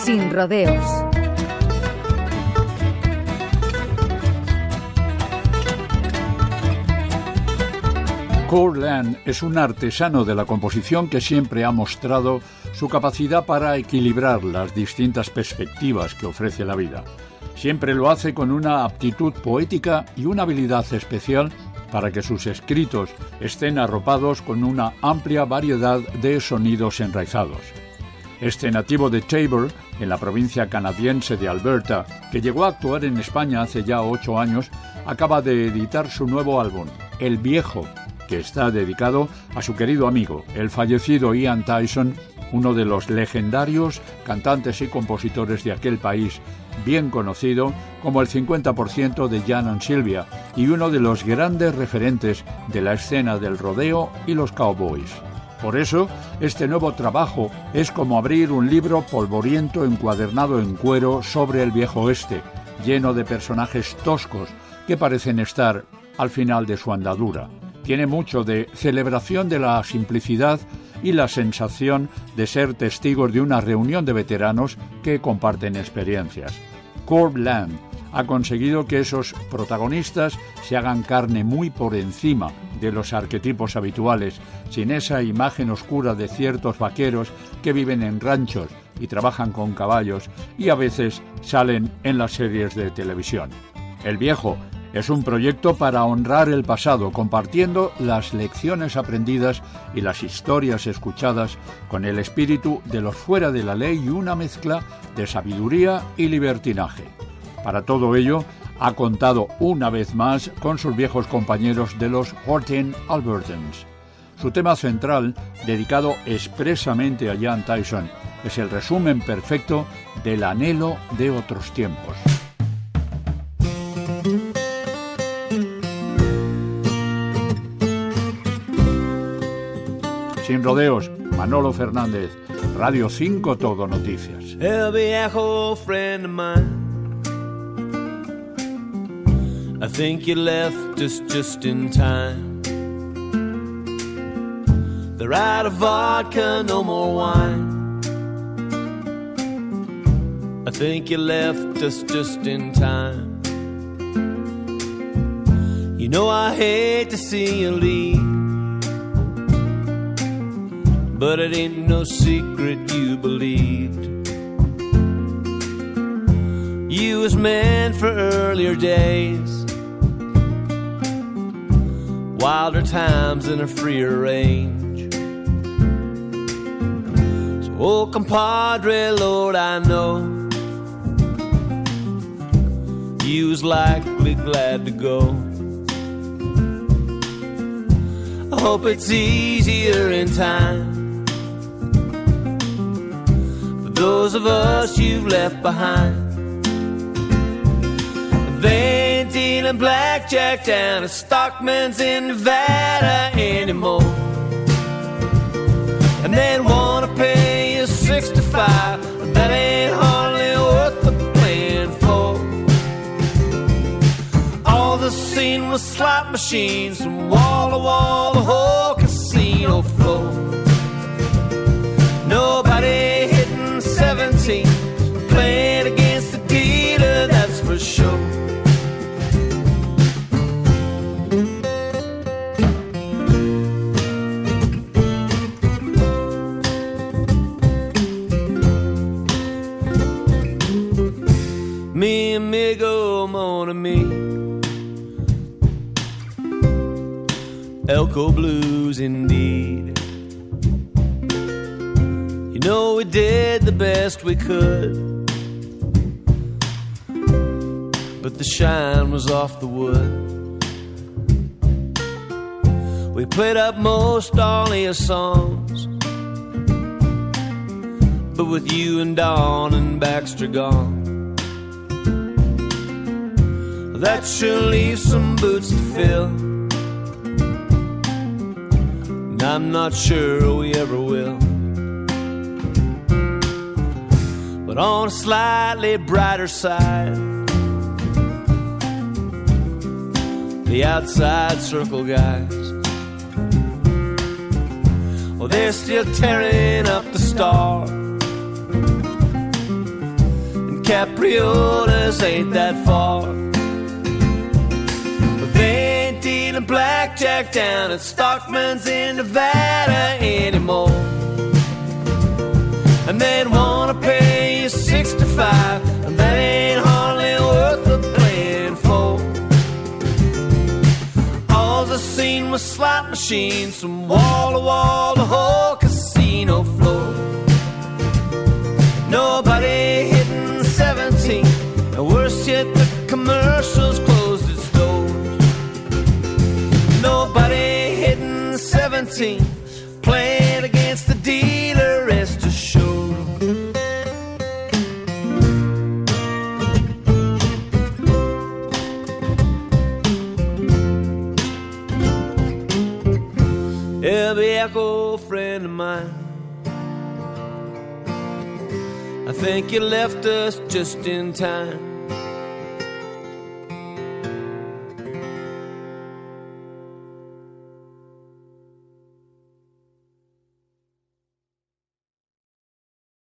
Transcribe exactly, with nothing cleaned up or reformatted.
Sin rodeos. Kurt Lang es un artesano de la composición que siempre ha mostrado su capacidad para equilibrar las distintas perspectivas que ofrece la vida. Siempre lo hace con una aptitud poética y una habilidad especial para que sus escritos estén arropados con una amplia variedad de sonidos enraizados. Este nativo de Taber, en la provincia canadiense de Alberta, que llegó a actuar en España hace ya ocho años, acaba de editar su nuevo álbum, El Viejo, que está dedicado a su querido amigo, el fallecido Ian Tyson, uno de los legendarios cantantes y compositores de aquel país, bien conocido como el cincuenta por ciento de Jan and Sylvia y uno de los grandes referentes de la escena del rodeo y los cowboys. Por eso, este nuevo trabajo es como abrir un libro polvoriento encuadernado en cuero sobre el viejo oeste, lleno de personajes toscos que parecen estar al final de su andadura. Tiene mucho de celebración de la simplicidad y la sensación de ser testigos de una reunión de veteranos que comparten experiencias. Kurt Lang ha conseguido que esos protagonistas se hagan carne muy por encima de los arquetipos habituales, sin esa imagen oscura de ciertos vaqueros que viven en ranchos y trabajan con caballos y a veces salen en las series de televisión. El Viejo es un proyecto para honrar el pasado, compartiendo las lecciones aprendidas y las historias escuchadas con el espíritu de los fuera de la ley y una mezcla de sabiduría y libertinaje. Para todo ello, ha contado una vez más con sus viejos compañeros de los Horton Albertans. Su tema central, dedicado expresamente a Jan Tyson, es el resumen perfecto del anhelo de otros tiempos. Sin rodeos, Manolo Fernández, Radio cinco Todo Noticias. El viejo friend of mine, I think you left us just in time. They're out of vodka, no more wine. I think you left us just in time. You know I hate to see you leave, but it ain't no secret you believed. You was meant for earlier days, wilder times and a freer range. So, oh, compadre, Lord, I know you was likely glad to go. I hope it's easier in time for those of us you've left behind. They ain't dealing blackjack down at Stockman's in Nevada anymore, and they wanna pay you sixty-five. That ain't hardly worth the playing for. All the scene was slot machines from wall to wall, the whole casino floor. Nobody hitting seventeen, playing against the dealer, that's for sure. Mi amigo, mon ami, Elko Blues indeed. You know we did the best we could, but the shine was off the wood. We played up most all of your songs, but with you and Dawn and Baxter gone, that sure leaves some boots to fill, and I'm not sure we ever will. But on a slightly brighter side, the outside circle guys, well, they're still tearing up the stars, Capriolas ain't that far. But they ain't dealing blackjack down at Stockman's in Nevada anymore. And they'd wanna pay you sixty-five, and that ain't hardly worth the playing for. All I seen was slot machines from wall to wall, the whole casino floor. Nobody hitting seventeen, and worse yet, the commercials closed its doors. Nobody hitting seventeen, playing against the dealer, rest assured. Every echo friend of mine, I think you left us just in time.